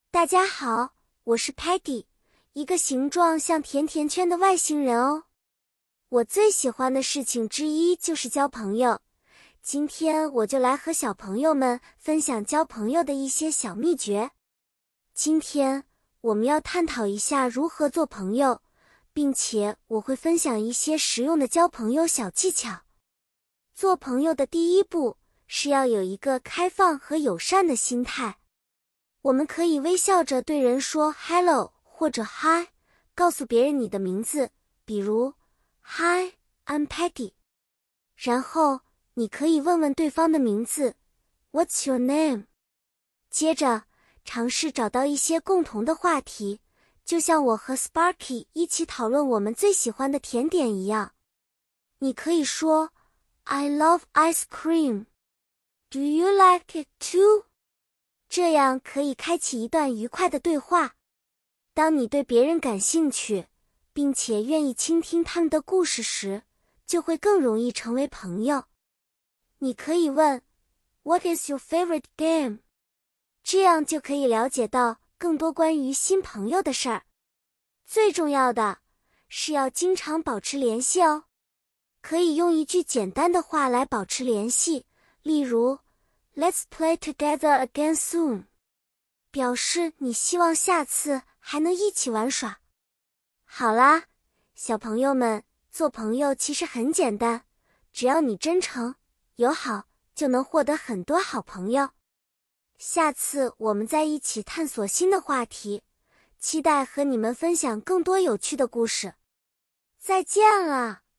大家好，我是 Patty， 一个形状像甜甜圈的外星人哦。我最喜欢的事情之一就是交朋友。今天我就来和小朋友们分享交朋友的一些小秘诀。今天我们要探讨一下如何做朋友，并且我会分享一些实用的交朋友小技巧。做朋友的第一步是要有一个开放和友善的心态。我们可以微笑着对人说 hello 或者 hi， 告诉别人你的名字，比如 Hi, I'm Patty。然后你可以问问对方的名字 What's your name？ 接着尝试找到一些共同的话题，就像我和 Sparky 一起讨论我们最喜欢的甜点一样。你可以说 I love ice cream. Do you like it too？这样可以开启一段愉快的对话。当你对别人感兴趣，并且愿意倾听他们的故事时，就会更容易成为朋友。你可以问 What is your favorite game？ 这样就可以了解到更多关于新朋友的事儿。最重要的是要经常保持联系哦。可以用一句简单的话来保持联系，例如Let's play together again soon， 表示你希望下次还能一起玩耍。好啦，小朋友们，做朋友其实很简单，只要你真诚、友好，就能获得很多好朋友。下次我们再一起探索新的话题，期待和你们分享更多有趣的故事。再见了。